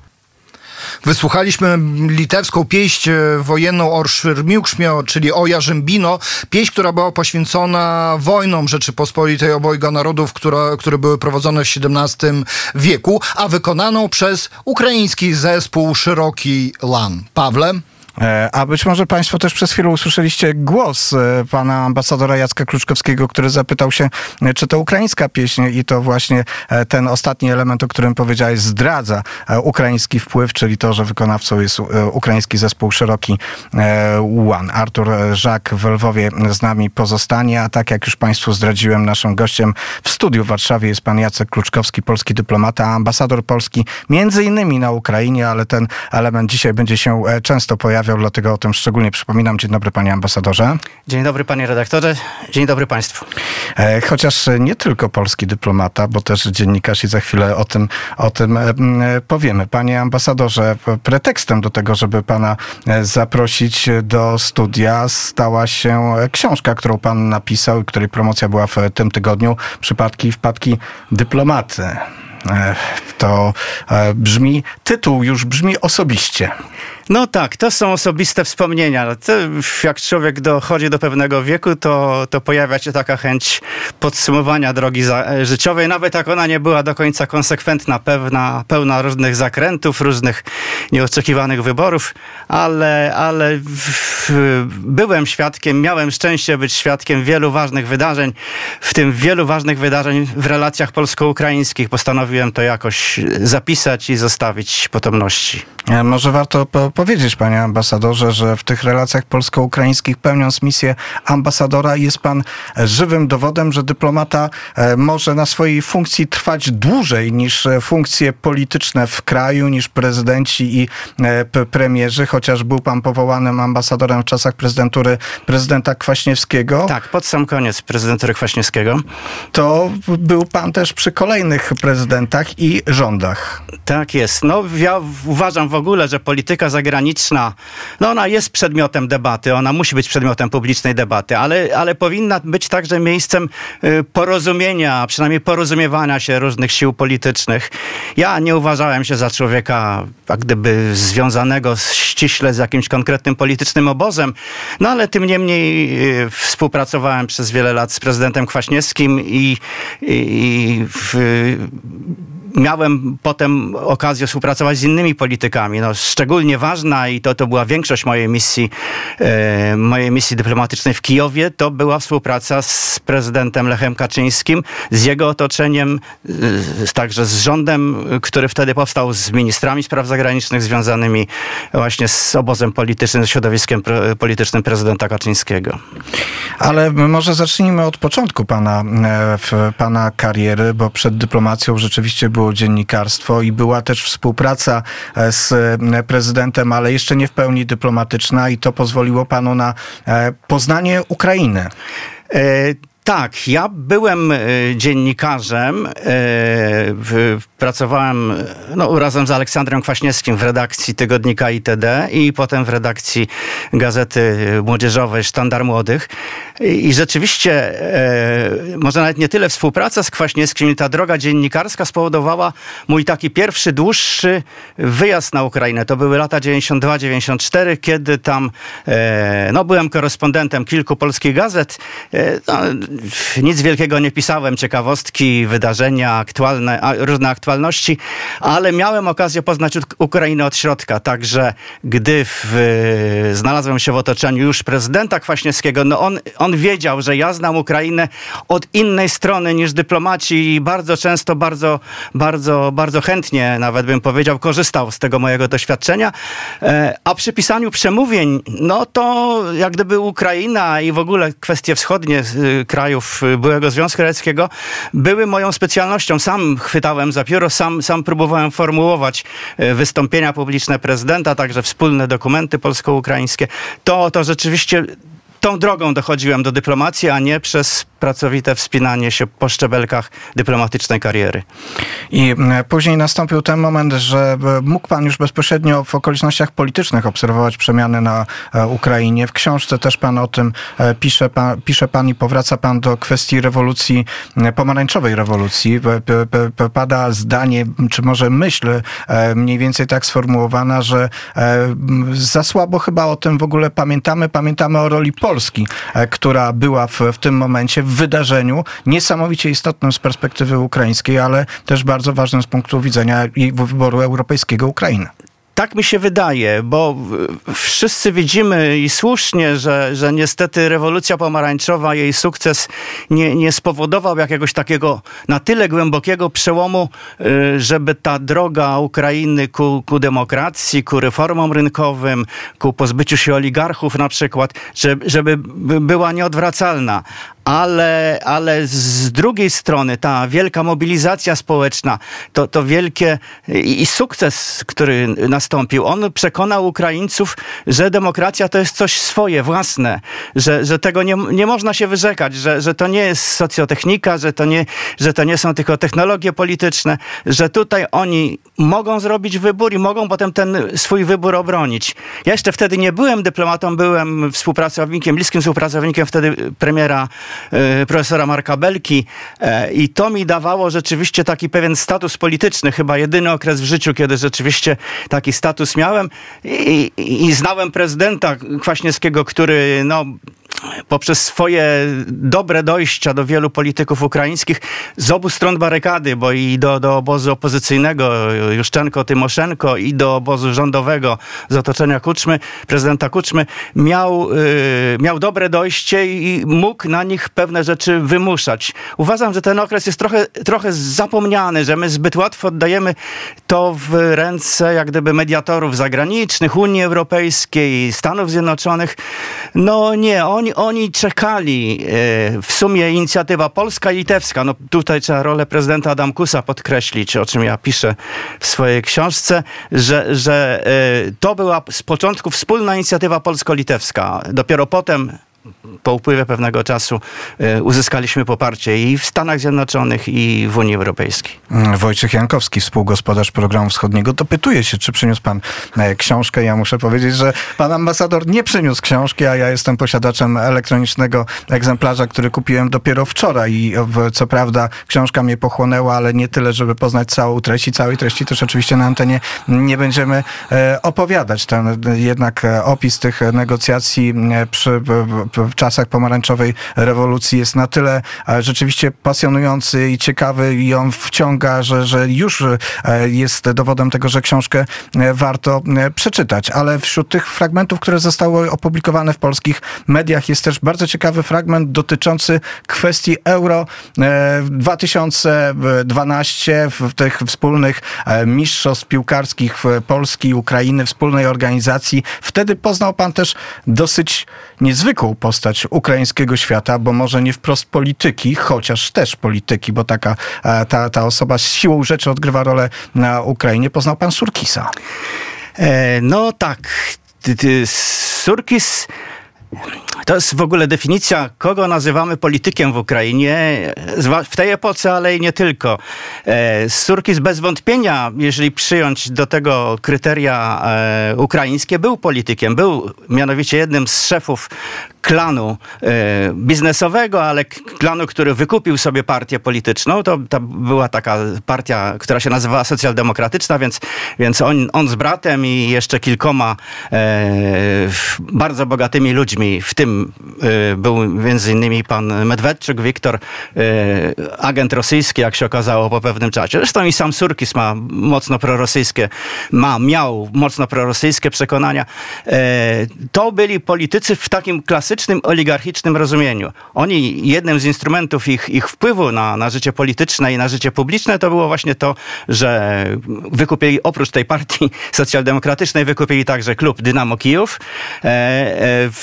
Wysłuchaliśmy litewską pieśń wojenną O Szwirmiukszmio, czyli o Jarzębino. Pieśń, która była poświęcona wojnom Rzeczypospolitej obojga narodów, które, które były prowadzone w siedemnastym wieku, a wykonaną przez ukraiński zespół Szeroki Lan. Pawle? A być może państwo też przez chwilę usłyszeliście głos pana ambasadora Jacka Kluczkowskiego, który zapytał się, czy to ukraińska pieśń i to właśnie ten ostatni element, o którym powiedziałeś, zdradza ukraiński wpływ, czyli to, że wykonawcą jest ukraiński zespół Szeroki Łan. Artur Żak w Lwowie z nami pozostanie, a tak jak już państwu zdradziłem, naszym gościem w studiu w Warszawie jest pan Jacek Kluczkowski, polski dyplomata, ambasador Polski między innymi na Ukrainie, ale ten element dzisiaj będzie się często pojawiał, dlatego o tym szczególnie przypominam. Dzień dobry, panie ambasadorze. Dzień dobry, panie redaktorze. Dzień dobry państwu. Chociaż nie tylko polski dyplomata, bo też dziennikarz i za chwilę o tym, o tym powiemy. Panie ambasadorze, pretekstem do tego, żeby pana zaprosić do studia, stała się książka, którą pan napisał i której promocja była w tym tygodniu. Przypadki i wpadki dyplomaty. To brzmi, tytuł już brzmi osobiście. No tak, to są osobiste wspomnienia. To, jak człowiek dochodzi do pewnego wieku, to, to pojawia się taka chęć podsumowania drogi za, życiowej, nawet jak ona nie była do końca konsekwentna, pewna, pełna różnych zakrętów, różnych nieoczekiwanych wyborów, ale, ale w, w, byłem świadkiem, miałem szczęście być świadkiem wielu ważnych wydarzeń, w tym wielu ważnych wydarzeń w relacjach polsko-ukraińskich. Postanowiłem to jakoś zapisać i zostawić potomności. Może warto po powiedzieć, panie ambasadorze, że w tych relacjach polsko-ukraińskich, pełniąc misję ambasadora, jest pan żywym dowodem, że dyplomata może na swojej funkcji trwać dłużej niż funkcje polityczne w kraju, niż prezydenci i premierzy, chociaż był pan powołanym ambasadorem w czasach prezydentury prezydenta Kwaśniewskiego. Tak, pod sam koniec prezydentury Kwaśniewskiego. To był pan też przy kolejnych prezydentach i rządach. Tak jest. No, ja uważam w ogóle, że polityka zagraniczna, no ona jest przedmiotem debaty, ona musi być przedmiotem publicznej debaty, ale, ale powinna być także miejscem porozumienia, przynajmniej porozumiewania się różnych sił politycznych. Ja nie uważałem się za człowieka, jak gdyby związanego ściśle z jakimś konkretnym politycznym obozem, no ale tym niemniej współpracowałem przez wiele lat z prezydentem Kwaśniewskim i, i, i w, miałem potem okazję współpracować z innymi politykami. No, szczególnie ważna i to, to była większość mojej misji, e, mojej misji dyplomatycznej w Kijowie, to była współpraca z prezydentem Lechem Kaczyńskim, z jego otoczeniem, e, także z rządem, który wtedy powstał, z ministrami spraw zagranicznych związanymi właśnie z obozem politycznym, z środowiskiem pre, politycznym prezydenta Kaczyńskiego. Ale może zacznijmy od początku pana, e, pana kariery, bo przed dyplomacją rzeczywiście było było dziennikarstwo i była też współpraca z prezydentem, ale jeszcze nie w pełni dyplomatyczna i to pozwoliło panu na poznanie Ukrainy. E- Tak, ja byłem dziennikarzem, pracowałem no, razem z Aleksandrem Kwaśniewskim w redakcji tygodnika I T D i potem w redakcji gazety młodzieżowej Sztandar Młodych. I rzeczywiście, może nawet nie tyle współpraca z Kwaśniewskim, ta droga dziennikarska spowodowała mój taki pierwszy, dłuższy wyjazd na Ukrainę. To były lata dziewięćdziesiąt dwa dziewięćdziesiąt cztery, kiedy tam no, byłem korespondentem kilku polskich gazet. No, nic wielkiego nie pisałem, ciekawostki, wydarzenia, aktualne, różne aktualne specjalności, ale miałem okazję poznać Ukrainę od środka, także gdy w, znalazłem się w otoczeniu już prezydenta Kwaśniewskiego, no on, on wiedział, że ja znam Ukrainę od innej strony niż dyplomaci i bardzo często, bardzo, bardzo, bardzo chętnie, nawet bym powiedział, korzystał z tego mojego doświadczenia. A przy pisaniu przemówień, no to jak gdyby Ukraina i w ogóle kwestie wschodnie krajów byłego Związku Radzieckiego były moją specjalnością. Sam chwytałem za pióro, sam, sam próbowałem formułować wystąpienia publiczne prezydenta, także wspólne dokumenty polsko-ukraińskie. To, to rzeczywiście tą drogą dochodziłem do dyplomacji, a nie przez pracowite wspinanie się po szczebelkach dyplomatycznej kariery. I później nastąpił ten moment, że mógł pan już bezpośrednio w okolicznościach politycznych obserwować przemiany na Ukrainie. W książce też pan o tym pisze, pan, pisze pan i powraca pan do kwestii rewolucji, pomarańczowej rewolucji. Pada zdanie, czy może myśl mniej więcej tak sformułowana, że za słabo chyba o tym w ogóle pamiętamy. Pamiętamy o roli Polski, która była w, w tym momencie w wydarzeniu niesamowicie istotnym z perspektywy ukraińskiej, ale też bardzo ważnym z punktu widzenia i wyboru europejskiego Ukrainy. Tak mi się wydaje, bo wszyscy widzimy i słusznie, że, że niestety rewolucja pomarańczowa, jej sukces nie, nie spowodował jakiegoś takiego na tyle głębokiego przełomu, żeby ta droga Ukrainy ku, ku demokracji, ku reformom rynkowym, ku pozbyciu się oligarchów na przykład, żeby, żeby była nieodwracalna. Ale, ale z drugiej strony ta wielka mobilizacja społeczna, to, to wielkie i, i sukces, który nastąpił, on przekonał Ukraińców, że demokracja to jest coś swoje, własne, że, że tego nie, nie można się wyrzekać, że, że to nie jest socjotechnika, że to, nie, że to nie są tylko technologie polityczne, że tutaj oni mogą zrobić wybór i mogą potem ten swój wybór obronić. Ja jeszcze wtedy nie byłem dyplomatą, byłem współpracownikiem, bliskim współpracownikiem wtedy premiera profesora Marka Belki i to mi dawało rzeczywiście taki pewien status polityczny, chyba jedyny okres w życiu, kiedy rzeczywiście taki status miałem i, i, i znałem prezydenta Kwaśniewskiego, który no poprzez swoje dobre dojścia do wielu polityków ukraińskich z obu stron barykady, bo i do, do obozu opozycyjnego Juszczenko-Tymoszenko i do obozu rządowego z otoczenia Kuczmy, prezydenta Kuczmy, miał, yy, miał dobre dojście i mógł na nich pewne rzeczy wymuszać. Uważam, że ten okres jest trochę, trochę zapomniany, że my zbyt łatwo oddajemy to w ręce jak gdyby mediatorów zagranicznych, Unii Europejskiej, Stanów Zjednoczonych. No nie, oni Oni czekali, w sumie inicjatywa polska i litewska, no tutaj trzeba rolę prezydenta Adamkusa podkreślić, o czym ja piszę w swojej książce, że, że to była z początku wspólna inicjatywa polsko-litewska. Dopiero potem, po upływie pewnego czasu, uzyskaliśmy poparcie i w Stanach Zjednoczonych, i w Unii Europejskiej. Wojciech Jankowski, współgospodarz Programu Wschodniego, dopytuje się, czy przyniósł pan książkę. Ja muszę powiedzieć, że pan ambasador nie przyniósł książki, a ja jestem posiadaczem elektronicznego egzemplarza, który kupiłem dopiero wczoraj i co prawda książka mnie pochłonęła, ale nie tyle, żeby poznać całą treść i całej treści też oczywiście na antenie nie będziemy opowiadać. Ten jednak opis tych negocjacji przy w czasach pomarańczowej rewolucji jest na tyle rzeczywiście pasjonujący i ciekawy i on wciąga, że, że już jest dowodem tego, że książkę warto przeczytać. Ale wśród tych fragmentów, które zostały opublikowane w polskich mediach, jest też bardzo ciekawy fragment dotyczący kwestii Euro dwa tysiące dwanaście, w tych wspólnych mistrzostw piłkarskich Polski i Ukrainy, wspólnej organizacji. Wtedy poznał pan też dosyć niezwykłą postać ukraińskiego świata, bo może nie wprost polityki, chociaż też polityki, bo taka ta, ta osoba z siłą rzeczy odgrywa rolę na Ukrainie. Poznał pan Surkisa. E, no tak. Surkis to jest w ogóle definicja, kogo nazywamy politykiem w Ukrainie, w tej epoce, ale i nie tylko. Surkis bez wątpienia, jeżeli przyjąć do tego kryteria e, ukraińskie, był politykiem. Był mianowicie jednym z szefów klanu e, biznesowego, ale klanu, który wykupił sobie partię polityczną. To, to była taka partia, która się nazywała socjaldemokratyczna, więc, więc on, on z bratem i jeszcze kilkoma e, bardzo bogatymi ludźmi w w tym był między innymi pan Medwedczuk, Wiktor, agent rosyjski, jak się okazało po pewnym czasie. Zresztą i sam Surkis ma mocno prorosyjskie, ma, miał mocno prorosyjskie przekonania. To byli politycy w takim klasycznym, oligarchicznym rozumieniu. Oni, jednym z instrumentów ich, ich wpływu na, na życie polityczne i na życie publiczne to było właśnie to, że wykupili, oprócz tej partii socjaldemokratycznej, wykupili także klub Dynamo Kijów e, w,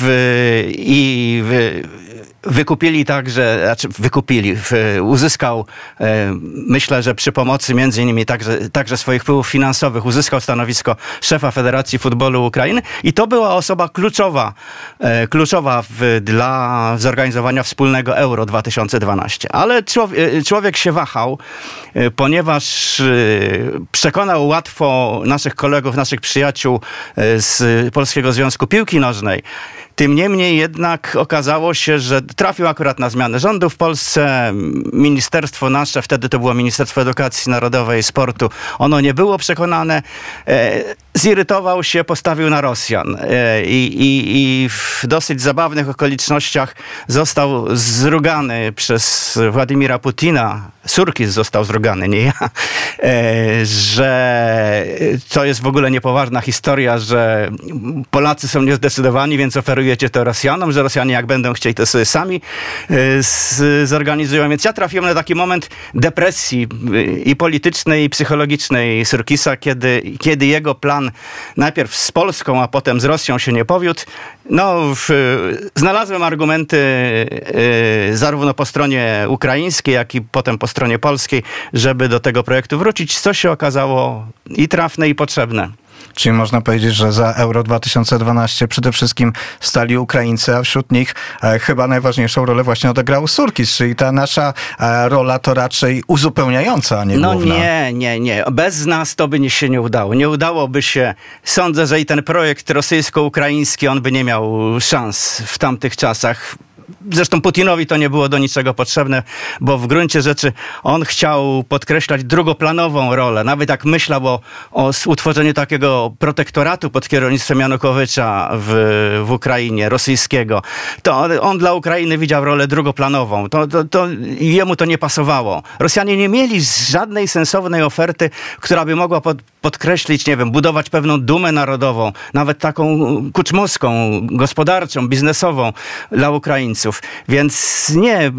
i w, wykupili także, znaczy wykupili, w, uzyskał, e, myślę, że przy pomocy między innymi także, także swoich wpływów finansowych, uzyskał stanowisko szefa Federacji Futbolu Ukrainy i to była osoba kluczowa, e, kluczowa w, dla zorganizowania wspólnego Euro dwa tysiące dwanaście. Ale człowiek, człowiek się wahał, e, ponieważ e, przekonał łatwo naszych kolegów, naszych przyjaciół e, z Polskiego Związku Piłki Nożnej. Tym niemniej jednak okazało się, że trafił akurat na zmianę rządu w Polsce. Ministerstwo nasze, wtedy to było Ministerstwo Edukacji Narodowej i Sportu, ono nie było przekonane. E, zirytował się, postawił na Rosjan. E, i, i w dosyć zabawnych okolicznościach został zrugany przez Władimira Putina. Surkis został zrugany, nie ja. E, że to jest w ogóle niepoważna historia, że Polacy są niezdecydowani, więc oferujecie to Rosjanom, że Rosjanie jak będą chcieli, to sobie sami z, zorganizują. Więc ja trafiłem na taki moment depresji i politycznej, i psychologicznej Surkisa, kiedy, kiedy jego plan najpierw z Polską, a potem z Rosją się nie powiódł. No, w, znalazłem argumenty y, zarówno po stronie ukraińskiej, jak i potem po stronie polskiej, żeby do tego projektu wrócić, co się okazało i trafne, i potrzebne. Czyli można powiedzieć, że za Euro dwa tysiące dwanaście przede wszystkim stali Ukraińcy, a wśród nich e, chyba najważniejszą rolę właśnie odegrał Surkis, czyli ta nasza e, rola to raczej uzupełniająca, a nie no główna. No nie, nie, nie. Bez nas to by nie się nie udało. Nie udałoby się. Sądzę, że i ten projekt rosyjsko-ukraiński, on by nie miał szans w tamtych czasach. Zresztą Putinowi to nie było do niczego potrzebne, bo w gruncie rzeczy on chciał podkreślać drugoplanową rolę. Nawet jak myślał o, o utworzeniu takiego protektoratu pod kierownictwem Janukowycza w, w Ukrainie, rosyjskiego, to on, on dla Ukrainy widział rolę drugoplanową. To, to, to jemu to nie pasowało. Rosjanie nie mieli żadnej sensownej oferty, która by mogła pod, podkreślić, nie wiem, budować pewną dumę narodową, nawet taką kuczmowską, gospodarczą, biznesową dla Ukraińców. Więc nie...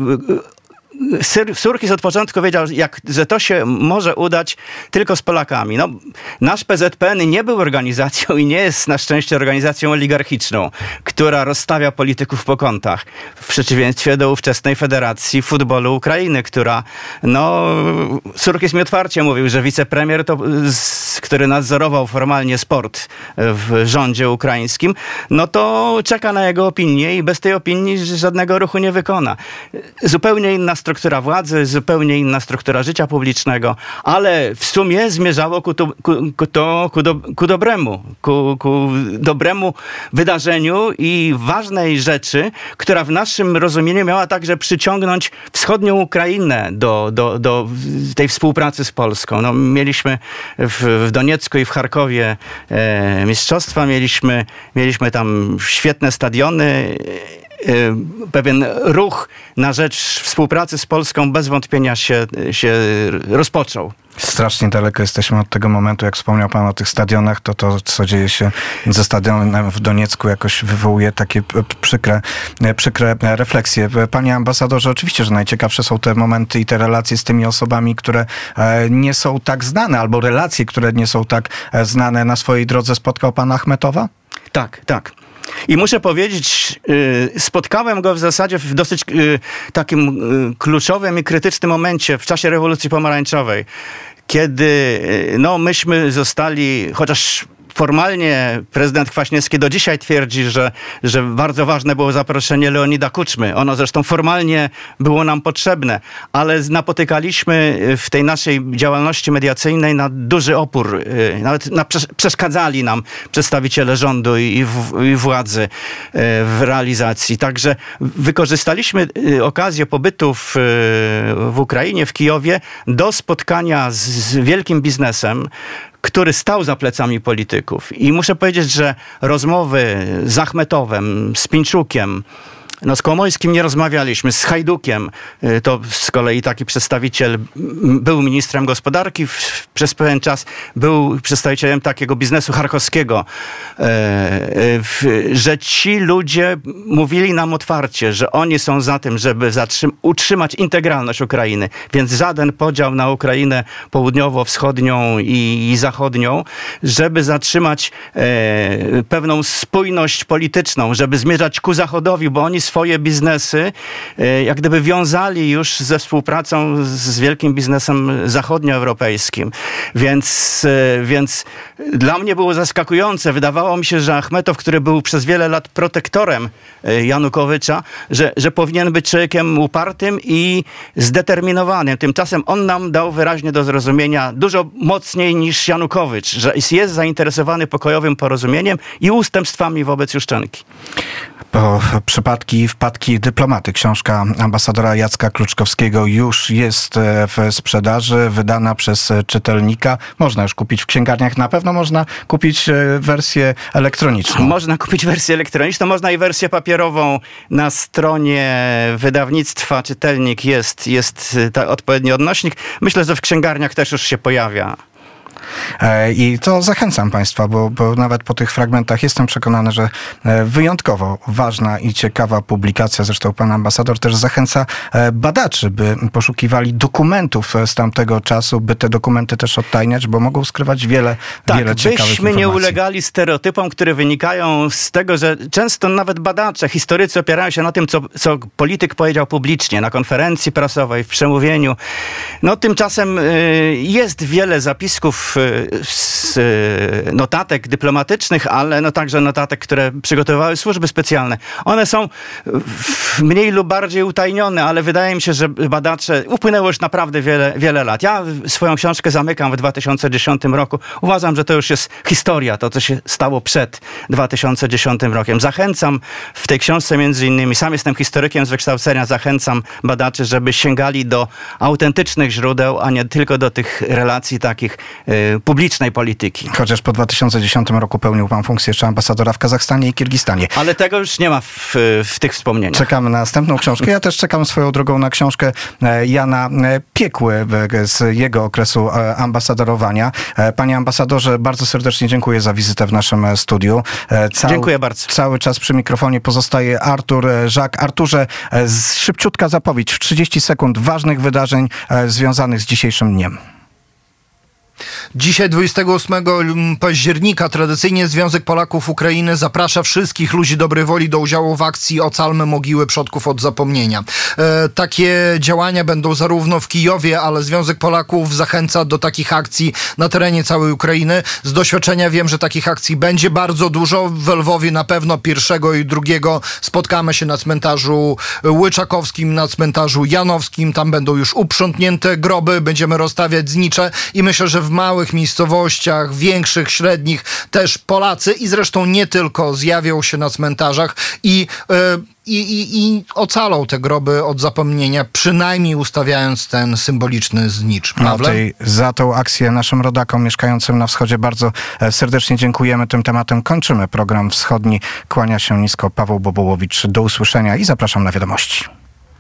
Surkis od początku wiedział, jak, że to się może udać tylko z Polakami. No, nasz P Z P N nie był organizacją i nie jest na szczęście organizacją oligarchiczną, która rozstawia polityków po kątach. W przeciwieństwie do ówczesnej Federacji Futbolu Ukrainy, która, no, Surkis mi otwarcie mówił, że wicepremier, to, z, który nadzorował formalnie sport w rządzie ukraińskim, no to czeka na jego opinię i bez tej opinii żadnego ruchu nie wykona. Zupełnie inna struktura władzy, zupełnie inna struktura życia publicznego, ale w sumie zmierzało ku, to, ku, ku, to, ku, do, ku dobremu, ku, ku dobremu wydarzeniu i ważnej rzeczy, która w naszym rozumieniu miała także przyciągnąć wschodnią Ukrainę do, do, do tej współpracy z Polską. No, mieliśmy w, w Doniecku i w Charkowie e, mistrzostwa, mieliśmy, mieliśmy tam świetne stadiony, pewien ruch na rzecz współpracy z Polską bez wątpienia się, się rozpoczął. Strasznie daleko jesteśmy od tego momentu, jak wspomniał pan o tych stadionach, to to, co dzieje się ze stadionem w Doniecku, jakoś wywołuje takie przykre, przykre refleksje. Panie ambasadorze, oczywiście, że najciekawsze są te momenty i te relacje z tymi osobami, które nie są tak znane, albo relacje, które nie są tak znane. Na swojej drodze spotkał pan Achmetowa? Tak, tak. I muszę powiedzieć, spotkałem go w zasadzie w dosyć takim kluczowym i krytycznym momencie w czasie rewolucji pomarańczowej, kiedy no, myśmy zostali, chociaż formalnie prezydent Kwaśniewski do dzisiaj twierdzi, że, że bardzo ważne było zaproszenie Leonida Kuczmy. Ono zresztą formalnie było nam potrzebne, ale napotykaliśmy w tej naszej działalności mediacyjnej na duży opór. Nawet na, przeszkadzali nam przedstawiciele rządu i, w, i władzy w realizacji. Także wykorzystaliśmy okazję pobytu w, w Ukrainie, w Kijowie do spotkania z, z wielkim biznesem, który stał za plecami polityków. I muszę powiedzieć, że rozmowy z Achmetowem, z Pińczukiem, no z Komońskim nie rozmawialiśmy, z Hajdukiem, to z kolei taki przedstawiciel był ministrem gospodarki w, przez pewien czas, był przedstawicielem takiego biznesu charkowskiego, e, w, że ci ludzie mówili nam otwarcie, że oni są za tym, żeby zatrzym- utrzymać integralność Ukrainy, więc żaden podział na Ukrainę południowo-wschodnią i, i zachodnią, żeby zatrzymać e, pewną spójność polityczną, żeby zmierzać ku zachodowi, bo oni swoje biznesy jak gdyby wiązali już ze współpracą z wielkim biznesem zachodnioeuropejskim. Więc, więc dla mnie było zaskakujące. Wydawało mi się, że Achmetow, który był przez wiele lat protektorem Janukowycza, że, że powinien być człowiekiem upartym i zdeterminowanym. Tymczasem on nam dał wyraźnie do zrozumienia dużo mocniej niż Janukowycz, że jest zainteresowany pokojowym porozumieniem i ustępstwami wobec Juszczenki. Po przypadki i wpadki dyplomaty. Książka ambasadora Jacka Kluczkowskiego już jest w sprzedaży, wydana przez czytelnika. Można już kupić w księgarniach. Na pewno można kupić wersję elektroniczną. Można kupić wersję elektroniczną, można i wersję papierową. Na stronie wydawnictwa Czytelnik jest, jest ta odpowiedni odnośnik. Myślę, że w księgarniach też już się pojawia. I to zachęcam Państwa, bo, bo nawet po tych fragmentach jestem przekonany, że wyjątkowo ważna i ciekawa publikacja, zresztą pan ambasador też zachęca badaczy, by poszukiwali dokumentów z tamtego czasu, by te dokumenty też odtajniać, bo mogą skrywać wiele, tak, wiele ciekawych informacji. Tak, byśmy nie ulegali stereotypom, które wynikają z tego, że często nawet badacze, historycy opierają się na tym, co, co polityk powiedział publicznie, na konferencji prasowej, w przemówieniu. No tymczasem y, jest wiele zapisków z notatek dyplomatycznych, ale no także notatek, które przygotowywały służby specjalne. One są mniej lub bardziej utajnione, ale wydaje mi się, że badacze, upłynęło już naprawdę wiele, wiele lat. Ja swoją książkę zamykam w dwa tysiące dziesiątym roku. Uważam, że to już jest historia, to co się stało przed dwa tysiące dziesiątym rokiem. Zachęcam w tej książce między innymi, sam jestem historykiem z wykształcenia, zachęcam badaczy, żeby sięgali do autentycznych źródeł, a nie tylko do tych relacji takich publicznej polityki. Chociaż po dwa tysiące dziesiątym roku pełnił pan funkcję jeszcze ambasadora w Kazachstanie i Kirgistanie. Ale tego już nie ma w, w tych wspomnieniach. Czekamy na następną książkę. Ja też czekam swoją drogą na książkę Jana Piekły z jego okresu ambasadorowania. Panie ambasadorze, bardzo serdecznie dziękuję za wizytę w naszym studiu. Cał, dziękuję bardzo. Cały czas przy mikrofonie pozostaje Artur Żak. Arturze, szybciutka zapowiedź w trzydzieści sekund ważnych wydarzeń związanych z dzisiejszym dniem. Dzisiaj, dwudziestego ósmego października, tradycyjnie Związek Polaków Ukrainy zaprasza wszystkich ludzi dobrej woli do udziału w akcji Ocalmy mogiły przodków od zapomnienia. E, takie działania będą zarówno w Kijowie, ale Związek Polaków zachęca do takich akcji na terenie całej Ukrainy. Z doświadczenia wiem, że takich akcji będzie bardzo dużo. W Lwowie na pewno pierwszego i drugiego spotkamy się na cmentarzu Łyczakowskim, na cmentarzu Janowskim. Tam będą już uprzątnięte groby, będziemy rozstawiać znicze i myślę, że w małych miejscowościach, większych, średnich też Polacy i zresztą nie tylko zjawią się na cmentarzach i, yy, i, i, i ocalą te groby od zapomnienia, przynajmniej ustawiając ten symboliczny znicz. No, tej, za tą akcję naszym rodakom mieszkającym na wschodzie bardzo serdecznie dziękujemy. Tym tematem kończymy program Wschodni. Kłania się nisko Paweł Bobołowicz. Do usłyszenia i zapraszam na wiadomości.